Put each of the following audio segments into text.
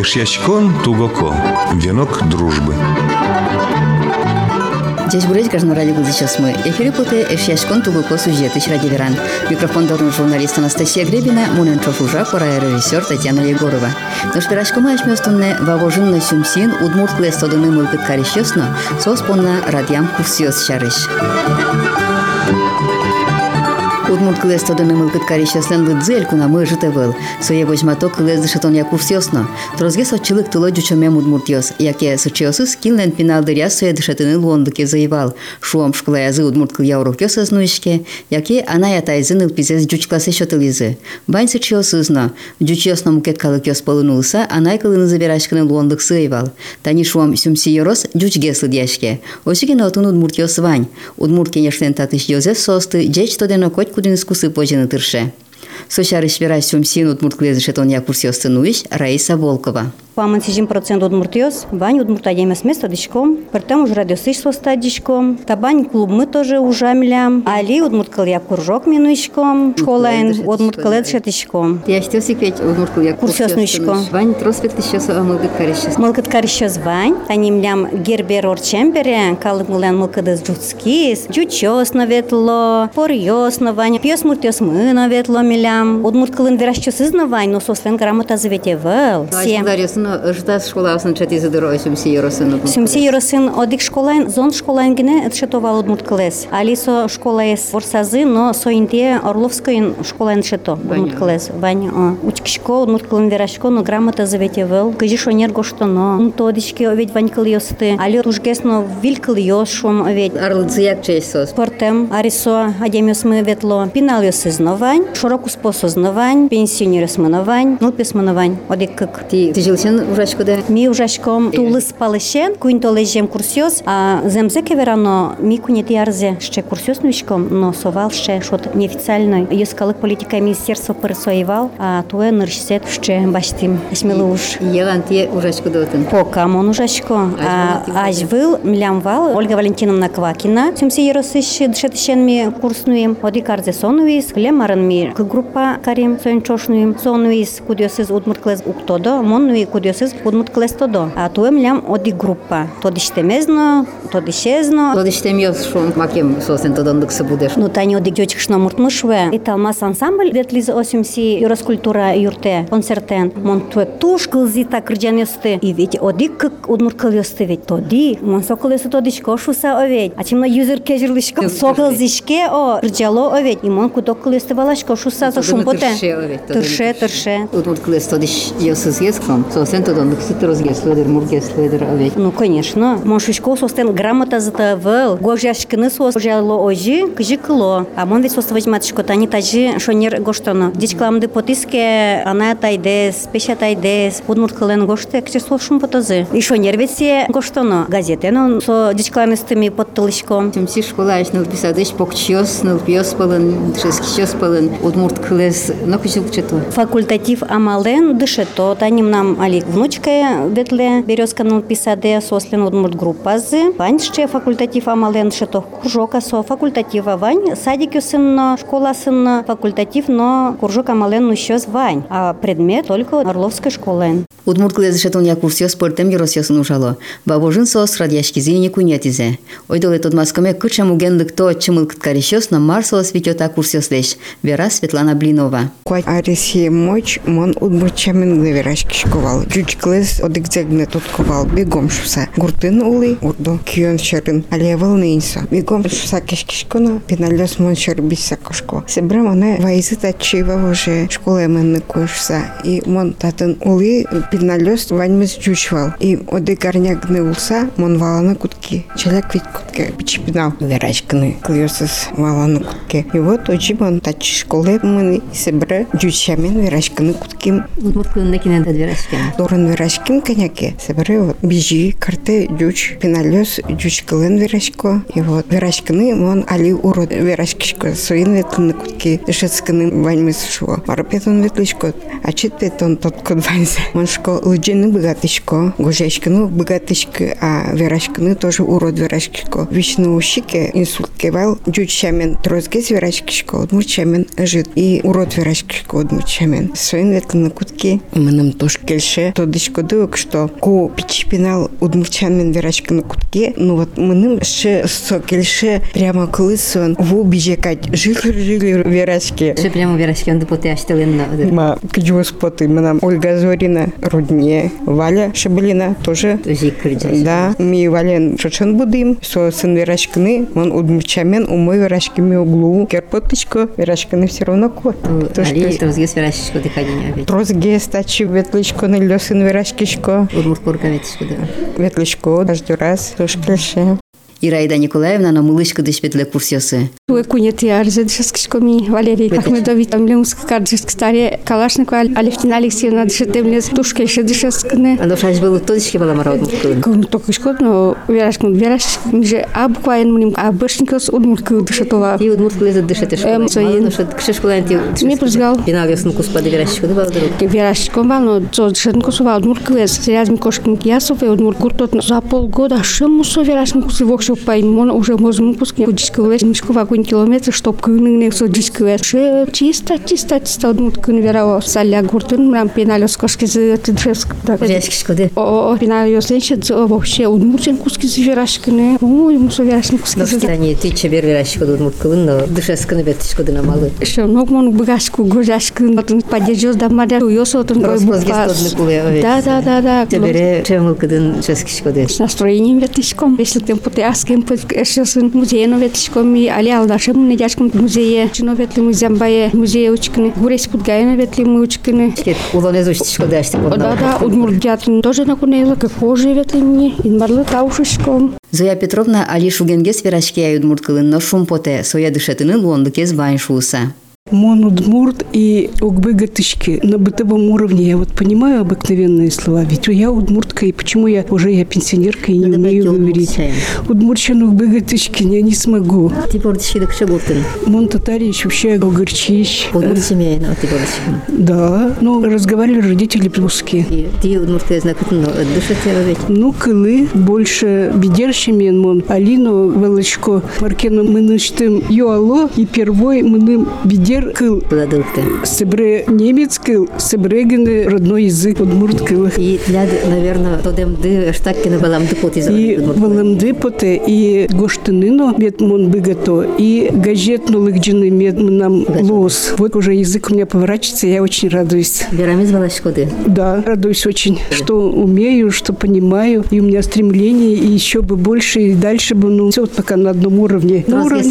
Эшьячкон тугоко. Венок дружбы. Здесь будет каждый ради года сейчас мы. Эфире путы Эшьячкон тугоко сюжеты ради веран. Микрофон должен журналист Анастасия Гребина, Муненчов уже, пора режиссер Татьяна Егорова. Но что рашкома ашмёстунне вавожинно сюмсин удмурт клестодыны мылкыт карищёсно, соспонна радиам курсиос шарыш. Удмурт клестодыны мылкыт карищёслен лыдзель куна мы житевел. Сое возьматок клездышетон я курсиосно. Трозге сочилык тыло дючомем удмуртиос, яке сочиосыз килнен пиналдыря сое дышетыны лондыке заевал. Шуом шклаязы удмурт кля урокёс азнуишке, яке ана ятайзын илпизес дюч классе шотылизы. Бань сочиосызно. Дючиосно мукет калыкёс полынулса, анай кылыны забирашканы лондык сыевал. Тани шуом сюмсиерос дючге слыдяшке. Осиген отун удмуртиос вань. Удмурт кенешлен татыш йозеф состы, джеч тодено коть кудын искусы пожины тырше. Сочарыш вера сюмсин удмурт клезышетон я курсиос ценуиш Раиса Волкова. Паман 7% удмуртиос, бань удмурта демес место дичком, пертем уж радиосыш соста дичком, табань клуб мы тоже ужамлям, али удмурткал я куржок минуишком, школаин удмурткал я дышетишком. Я что секвет удмурткал я курсиос нуишком. Вань троспект еще мылкыт карищёс. Мылкыт карищёс вань, танимлям гербер орчембере, калык мылен мылкыдыз джутскис, джучёс наветло, порьёс навань, пьёс муртиос мы наветло милям, удмурткалын верашчёсыз навань, но сослен грамота заветевел. Ждас школа асын чати задырой сюмсиеросин. Сюмсиеросин одик школайн, зон школайн гине отшетовал удмурткалес. Алисо школаес ворсазы, но соинте Орловскоин школайн шето удмурткалес. Вань учкишко удмурткалын верашко, но грамота заветевел. Кажишо нергошто, но тодички оведь ванькал ёсты. Али ужгесно вилькал ёшом оведь. Арлыцияк чейсос. Портем арисо адемиос мы ветло. Пинал ёсыз новань, широку спосоз новань, пенсионерос мы новань, нулпес мы новань. Одик как. Ти жилсен ужачко да? Ми ужачком тулыс палышен, куин толежем курсиос, а земзеке верано ми кунет ярзе ще курсиос нуишком, но совал ще шот неофициальной. Юскалык политика министерства пересоевал, а туе ныршсет ще баштим. Смело уж. Елан ти ужачко дотын. Пока мон ужачко. Ажвыл млямвал Ольга Валентиновна Квакина. Сюмсиеросыш дышетышен ми курснуем. Оди карзе сонуис, клемарын ми группа карим соинчошнуем. Сонуис кудиосыз удмуртклез уктодо, монуи кудиосыз удмуртклез тодо. А туем лям оди группа. Тоди штемезно, тоди шезно. Тоди штемёс шон макем сосен тодондык будеш. Ну тани оди гёчкшно муртмышве. И талмас ансамбль ветлиз осюмси юраскультура юрте концертен. Мон туек туш кылзита кырджанёсты. И ведь оди кык удмурткалёсты ведь тоди. Мон соколёсы тодишко шуса оведь. А чимно юзер кежирлышко соколзишке о кырджало оведь. И мон кудок кылёсты валашко шуса со шумпоте. Тырше. Удмурткалёс тодиш ёсыз еском. Сосен тодондык ситрозгеследер, мургеследер оведь. Ну конечно. Мон шишко состен грамота затавел. Гожашкины сос жало ожи, кыжикло. А мон ведь сос возьматышко тани тажи шонер гоштоно. Дичкламды потиске ана тайдес, пеша тайдес, удмурткален гоште, кчесло шумпотозы. И шонер ведь се гоштоно. Газеты, но со дичкламистыми подтылышком. Сюмси школа еш нылписадыш покчиос, нылпиос палын, шескичиос палын, удмурткалес, но кычылчето. Факультатив амален дышето, таним нам алик внучка ветле березка нылписаде, сослен удмурт группазы. Вань ще факультатив амален шето куржока со факультатива вань, садик юсынно, школа сынно, факультатив, но куржок амален нущёс вань, а предмет только Орловской школы. Удмурткалес шетон я курсиос портем еросьёсын ужало. Бабожин сос радяшки зини кунятизе. Ойдоле тот маскоме кычам угенлык то чымылкыт карищёс на марсос витёта курсиос леш. Вера Светлана Блинова. Арисия моч мон удмуртчамин главерашки шковал. Жучклес одикзегне тотковал бегом шуса. Гуртын улы урдо кион шерин. Алевал нейнсо. Бегом шуса кешкишконо пиналёс мон шер бисса кошко. Себрам она вайзы тачива уже школа менны кошса. И мон татын улы пиналёс ваньмыз жучвал. И одикарнягны улса мон валана кутки. Челяк ведь кутке бичпинал. Верашкны клёсыз валана кутке. И вот очимон тач школы мы себре жучамин верашкны кутким. Удмурткалын некинен верашкен. Дорын верашкин коняке. Себре вот бижи карте жуч пиналёс жучкалын верашко. И вот верашкны мон али урод верашкишко. Соин ветлны кутки дышецкны ваньмыз шо. Марапетон ветлышко. А читпетон тот код ваньзе. Моншко лыджины богатышко. Гожешкны богатышко. А верашкны тоже урод верашкишко. Вишны ушике инсульт кевал. Жучамен трозгез верашкишко. Удмурчамен жит. И урод верашкишко удмурчамен. Соин ветлны кутки. Мыным тош кельше ше тодышко дык, что ко пичпинал удмурчанмен верашкины кутке, ну вот мыным ше сокельше прямо клысон в убежекать жили верашки. Ше прямо верашки он допоте аштелен. Ма киджу споты, нам Ольга Зорина, Рудне, Валя Шабалина тоже. Да, ми Вален шочен будем, со сын верашкины, он удмурчамен, умой верашками углу, керпоточко, верашкины все равно кот. Али трозгес верашечко дыхание ведь. Трозгес тачи ветличко на лёсын верашкишко. Удмурткорка ветишко да. Ветличко, каждый раз, тоже клеше. Ираида Николаевна на мылышка дышпетле курсиосы. Кунети арзедшескими Валерий Ахмедович Тамлемск кардышк старе Калашникова Алевтина Алексеевна дышетемлес тушка еще дышескны. А душа было точки была мород. Кон только шкод, но верашкин же абуквайн мним абышникос удмуртку дышетова. И удмуртку лезет дышетеш. Своин. Кшешкуланти. Не прозгал. Пинал ясну куспады верашечко да вал друг. Верашкин вал, но то дышетку сувал удмуртку лез. Серьезный кошкин киясов и удмуртку тот за полгода шемусу верашкин кусывок шопайм, он уже можем пускать кудичку лез мешкова километр, чтоб кынный судичку чисто удмуртку верава саля гуртын нам пеналёс кошки за тышеск. Верашечко да. О пеналёс ленчет вообще удмуртен куски за верашкины. Ой, мусу верашкин куски за. Они ты чебер верашечко да удмуртку, но дышескны ветишко да намалы. Еще много мон багашку гожашкин, потом поддержал да мада уёсо тон гой буквас. Да. Чебере чемылка да ческишко да. С настроением ветишком, если тем потяским сын музейно ветишком и алял нашим недяшком музее, чино ветли музея музея учкины, гурес подгайно ветли учкины. Улонез учтишко да что. Да, удмуртятин тоже накунела, как позже ветли мне, инмарлы таушишком. Зоя Петровна али шугенгес верашки ай удмурткылын но шумпоте, соя дышетыны лондыкез байншуса. Мон удмурт и угбыгатышки на бытовом уровне. Я вот понимаю обыкновенные слова. Ведь я удмуртка, и почему я пенсионерка и не умею говорить. Удмуртчан угбыгатышки я не смогу. Ты пордышки да кшегуртын. Мон татарич вообще угорчищ. Удмурт семейно, ты пордышки. Да, но разговаривали родители русские. Ты удмуртка знакотно дышете ведь. Ну, кылы больше бедерщими мон. Алину Волочко Маркену мы ночтым юало и первой мы бедер кыл. Сыбре немец кыл, сыбрегены родной язык удмурт кыл. И ляд, наверное, тодемды штаккины баламды поты. И баламды поты, и гоштыныно мед мон быгато, и газетну лыгджины мед нам лос. Вот уже язык у меня поворачивается, я очень радуюсь. Берамиз Волочкоды? Да, радуюсь очень, что умею, что понимаю, и у меня стремление, и еще бы больше, и дальше бы, ну, все вот пока на одном уровне. На уровне.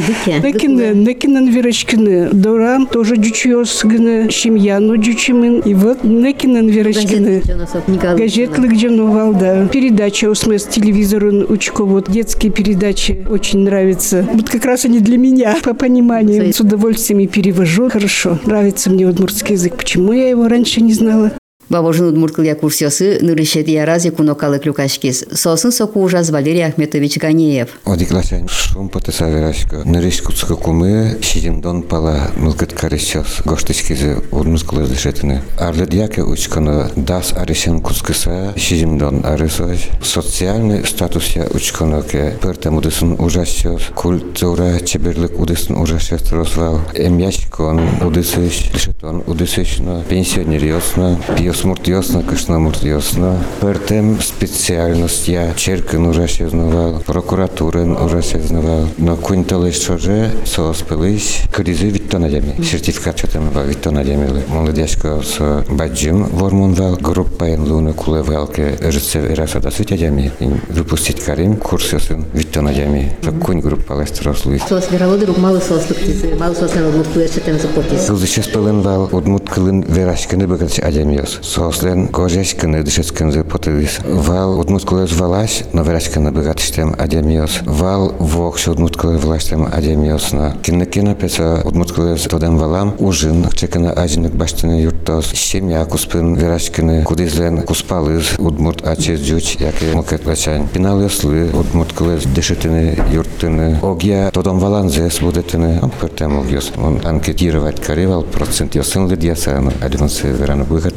Некинен верочкины. Дорам тоже дючиос гны, Шимьяну дючимин. И вот некинен верочкины. Газетлы где да. Передача с телевизором учко, вот детские передачи очень нравятся. Вот как раз они для меня, по пониманию. С удовольствием и перевожу. Хорошо. Нравится мне удмуртский язык. Почему я его раньше не знала? Бабожин удмурткылья курсиосы нырышет ярази кунокалы клюкашкис. Сосын соку ужас Валерий Ахметович Ганеев. Одикласян шум потеса верашка. Нырыш куцка кумы шидимдон пала мылкыт карисчос. Гоштычкизе удмурткылы дышетыны. Арлет яке учкано дас аришен куцкыса шидимдон арисош. Социальный статус я учкано ке пертем удысын ужасчос. Культура чеберлык удысын ужасчос рослал. Эмяшкон удысыш дышетон удысыш на пенсионериосно. Смуртиосно, кышномуртиосно. Пертем специальность я черкин ужасезнавал, прокуратурен ужасезнавал. Но кунталыш шоже сооспылыш кризы виттонадями. Сертификат чатамова виттонадями. Молодежка с баджим вормунвал, группаен луны кулевалке рыцев ираса сытядями. Выпустить карим курсиосын виттонадями. Кунь группа лестрослуй. Сос вералодырук малы сослыктизы, малы сослен удмурткылышетен запортис. Кылдышес пыленвал удмурткылын верашкины быгатч адямиос. Сослен гожешкины дышескинзы потылис. Вал удмурткылыз валаш, но верашкины быгатштем адямиос. Вал вокш удмурткылы влаштем адямиосна. Кинекина песа удмурткылыз тодем валам ужин чекина ажинок баштыны юртос. Семья куспын верашкины кудизлен куспалыз удмурт ачез жуч яке мокет лачань. Пиналыслы удмурткылыз дышетыны юртыны. Огия тодом валанзес будетыны. Пертем огиос. Он анкетировать каревал процент. Йосын лидьясану. Адинусы верану быгатышки.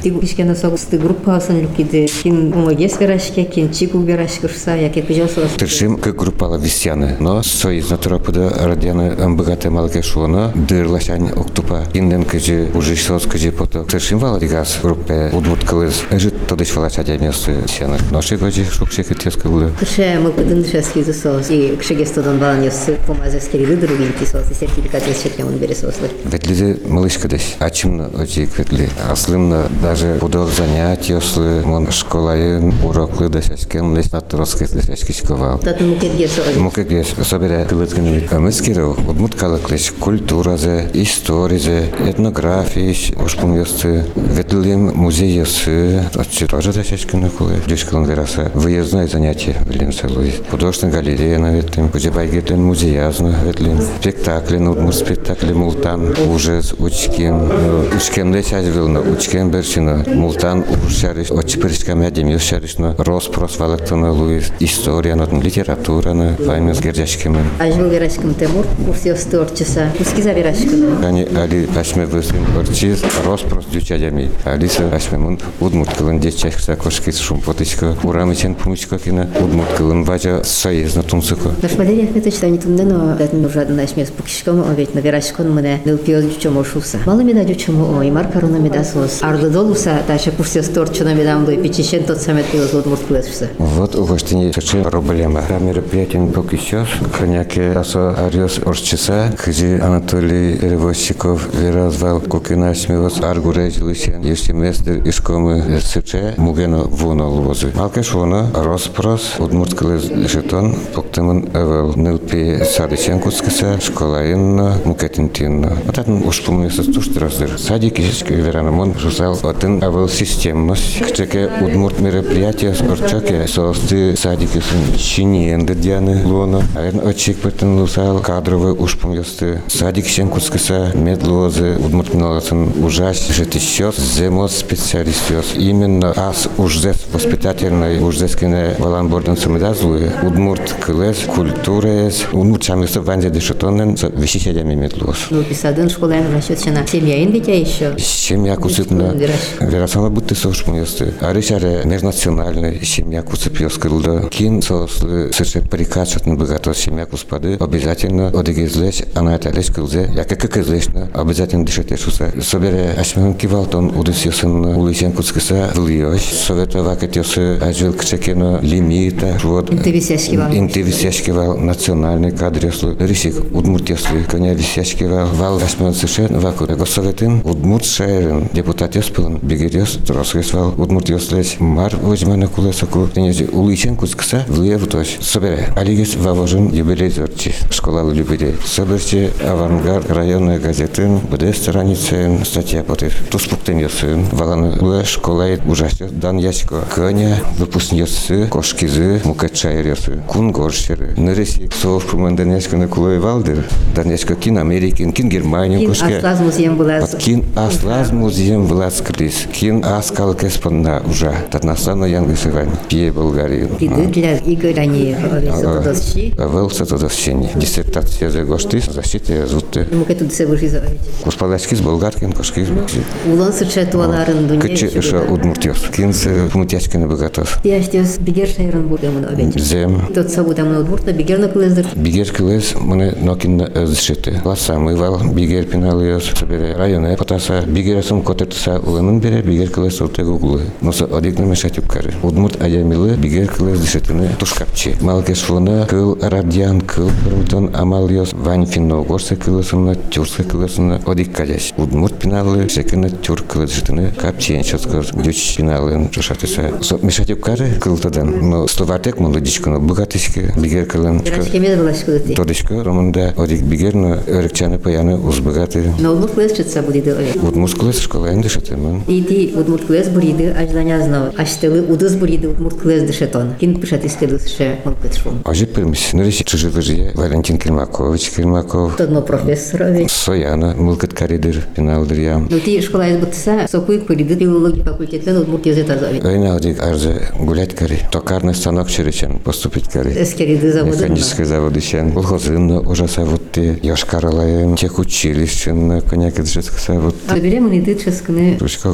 Ти кишкена согусты группасын люкиде. Кин умагес верашке, кин чигу верашкышса, яке пижосос. Тыршим к группала висяны, но союз натуропуда радианы амбыгаты малкешуна, дырлашань октупа, инден кыжи уже сос кыжи пото. Тыршим валадигас группе удмурт кылыз, эжит тодыш валачадя место сяны. Наши гожи шукшек итеска гулы. Тырше мы подындышески засос, и кшегестодон баланёсы помазескери другим кисос, и сертификат есчеткен он бересослы. Ветлиде малышка десь, ачимна очик ветли. Аслымна даже удал занятия, ослы, мон школаен, уроклы десячкен, лес натроски десячкичковал. Татын мукетгес ой. Мукетгес, собере кылытканы. Амыскиров, удмурткалыклыш, культуразе, историзе, этнографиш, ушпумьёсты, ветлим музейёсы, отчи тоже десячкены кулы. Дюшкалын вераса, выездное занятие, велим селуи. Художественная галерея на ветлим, кузебайгетлен музеязно ветлим. Спектакли, удмурт спектакли мултан, ужас, учкин, учкенде чазгылна, учкен берчина, мултан ушариш, очперискам ядем юшаришна, роспрос валактана луис, история, литература, файмес гердяшкемен. Ажвыл верашкам Темур, курсиос творчеса, кускиза верашкам. Они али пашме высым орчиз, роспрос дючадями. Алиса пашмемун удмурткалын дечачкса кошкис шумпотычка, урамычен пумычка кина, удмурткалын важа союзна тунсыка. Наш Валерий Ахметович не тумдено, датн нужадын ашмес пукишкам, овет на верашкон мне нылпиоз дючомо шуса. Мало меда дючомо ой, маркаруна медасос. Арды долуса, таша курсиос творчена медам дой печищен тот самет пиоз удмурткалышса. Вот у гостиницы совершенно проблема. Мероприятие пока сейчас, коняки асо ариос орчеса, кыжи Анатолий Перевозчиков виразвал кукина смевос аргурей лысен, если местер ишкомы сыче, мугено вуна лвозы. Малкеш вуна роспрос, удмурткалыз жетон, поктемон эвел нылпи садыченкускаса, школаинна, мукетинтинна. Вот это уж помнится туштраздыр. Садик ишечки веранамон жусал один эвел системность, кчеке удмурт мероприятия орчаке, соосты садики сын чиниенде дяны луна, а очик пытанусал кадровый уж помнится садик щенкускаса, медлозы, удмурт миналасын ужас, жетищёс, земос специалистёс. Именно ас ужзес воспитательной ужзескине валанборден самедазлуе, удмурт кылес, культурес, удмурт чамысы ванзе дешетонен, вещищадями медлоз. Ну, писадын школаем расчётчена. Семьяин дитя ещё. Семья кусытна, верасана будто сош помнится. Арышаре межнациональный семья кусыпьёс кылда. Кин сослы сырше прикачатны богато семья куспады, обязательно одегезлеш, она это леш кылзе, я как излешна, обязательно дышетешуса. Собере ашмен кивалтон удысьёсын улысен кускаса влиёш, советова кетёсы ажил кчекена лимита, вот. Интевисяшкивал национальный кадрёслы, рисик удмуртёслы, коня висяшкивал, вал ашмен сырше, ваку. Его советын удмурт шайрын, депутатёс пылын, бигерёс, тросгесвал, удмуртёслеш, мар возьмана кулесаку, тенези улысен кускаса, влиев тош. Собере, алигес вавожын юбилей зорчи, школа любителей. Соберче авангард районной газетын, bude страницен статья против. Туспуктен ёсын, валаны школает ужасно дан яшко. Коня выпускнёсы, кошкизы, мукачайрёсы, кунгоршеры. Ныресик сов пуманденешко на кулой валдер, данешко кин Америкин, кин Германию кошке. Кин аслаз музеем влаз. Кин аслаз музеем влаз крис. Кин аскал кеспанна уже. Татнасано янгысывань. Пье Болгарии. Приды для Игоря не овесотодосчи. Овесотодосчи. Диссертация за гошты, защита зутты. Мукету се выржизовать. Господачки с болгаркин, кошки с бокси. Улан сычетуаларын дуне. Кычы ша удмуртёс. Кинс пумутяшки на богатос. Яштёс бигер шайрын будемын овечи. Зем. Тот сабудамын удмуртна бигер на кылездыр. Бигер кылез мыны нокин зшыты. Ласа мывал бигер пиналыёс. Собере районы потаса бигерасым котертса уланын бере бигер кылез отег углы. Носа одикны мешать укары. Удмурт аямилы бигер кылез зшытыны тушкапчи. Малкеш вона кыл радиан кыл пырмытон амалыёс. Вань финно горсе кылысына тюрсе кылысына одик кадяш. Удмурт пиналы шекыны тюр кылыз жытыны капчиен чоскыз дюч пиналын чушатыса. Мешать укары кылтадан. Но словартек мунду дичкыны богатышки бигер кылын. Верашкеме влашкылыты. Тодышка романда одик бигерно örükçanı payаны узбагаты. Но удмурт кылез чытса будиды овечи. Удмурт кылыз школаен дышатымын. Иди удмурт кылез буриды аждания знал. Аштылы удыз буриды удмурт кылез дышетон. Кин пышат искедысше мылкытшвон. Ажип пермис. Нырыш чыжы-выжые Валентин Кермакович Кермаков. Тодно профессор овечи. Сояна мылкыт каридыр пиналдыр ям. Ну ти школа из бутса сокуй буриды филология факультетен удмурт язык азович. Ойна одик арзы гулять кари. Токарный станок черечен поступить кари. Эскериды заводы. Механический завод ищен. Колхозынна ужаса вот Йошкар-Олаем. Тех училищен коняк дышетка вот. Соберем и ты ческны. Ручка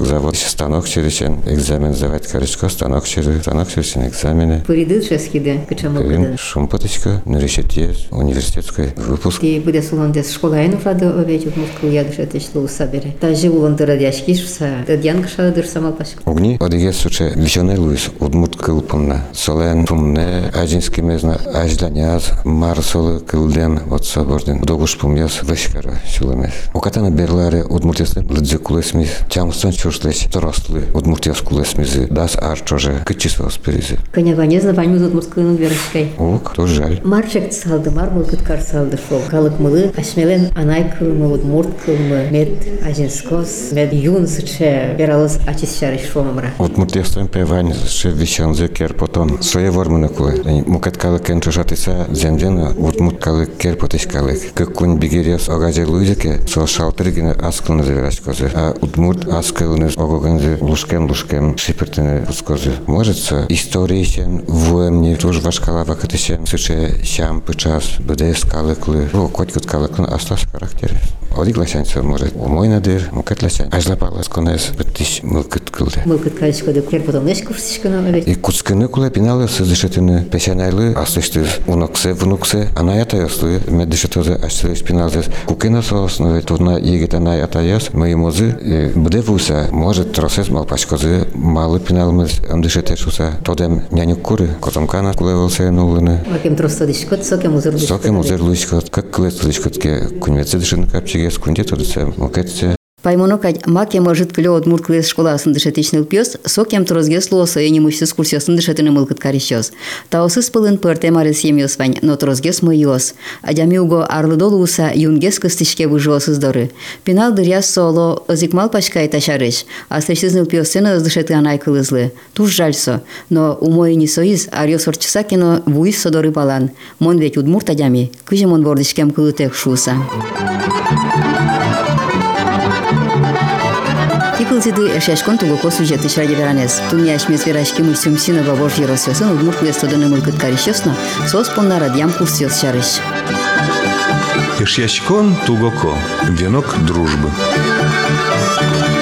завод станок черечен экзамен сдавать корочка, станок черечен экзамены. Пыридыл шескиде, кычамыл кыды. Шумпоточка, университет, университетский выпуск. И буде суландес школа айну фрады овечу мускул ядышет ишлу сабере. Та уландыра яшкишса, дядянкша дырсамал пашка. Огни, одигес суче вишоне Луис, удмурт кылпымна. Солен пумне, ажинский мезна, ажданяз, марсолы кылден, от соборден. Догуш пумяс, вешкара, сюлемес. Окатана берларе удмуртесле, лыдзе кулесмис, чамстон чуршлес, торослы, удмуртес кулесмизы, дас арчоже, кычисвел спиризи. Конява не знаваню удмурткылыну верышкай. Ок, то жаль. Марчек салды, мармыл кыткар салды шол. Калык мылы, ашмелен анай кылмы, удмурт кылмы, мед ажинскос, мед юн сыче, бералыз ачис шарыш шомамра. Удмуртестен певань, ше вишонзе кер потом. Своє вормыны кулы. Мукет калык кен чушатыса, земдена, удмурт калык кер потыш калык. Как кун бигерес огазе луизеке, со шалтыргine аскылны завераш козы. А удмурт аскылны огогензе лушкем шипертыны пускозы. Можется историичен, вуемни, туж вашкала вакатышен, сыче щам пычас, бдес калыклы. О, котькут калыклы астас характеры. Одик лачанца может умой надыр, мукет лачан. Ажлапала сконез, бытыш мылкыт кылды. Мылкыт калышкоды кер потом неш курсишкана овечу. И куцкыны куле пиналы сыздышетыны пешанайлы астышты внуксе, анаята яслы, меддышетозы аштылыш пиналзес. Кукена сооснове турна егет анай атаяс, моимозы, бде вуса, может тросес малпачкозы, малы пиналмыз, андышетешуса, тодем нянюк куры, котомкана кулевалсе нулыны. Акем тростодышкот, сокем узырлышкот. Сокем узырлышкот, как кулецлышкотке, кунвецы дышын капчигес, кунде тодысе, мукетсе. Паймонокать маке может клё от мурклес школа сындышетичный пёс, сокем трозгес лоса и немущес курсё сындышетыны мылкыт карищёс. Таосыз пылын пырте марес емёс вань, но трозгес мыйос. Адямиуго арлыдолуса юнгес кыстышке выжосыз доры. Пинал дыряс соло озикмал пачкай ташарыш, а слышызныл пёсцена оздышеты анай кылызлы. Туж жальсо, но умой не соиз, арьёс орчысакино вуис содоры балан. Мон ведь удмурт адями, кыжем он вордышкем кылытек шуса. Типылзиды шашкон тугоко сюжеты шраги веранес. Туняш мезверашки мусюм синова вож еросёсын удмурт лестодыны мылкыт карищёсно, соспонна радьям курсёс шарыш. Ишьяшкон тугоко. Венок дружбы.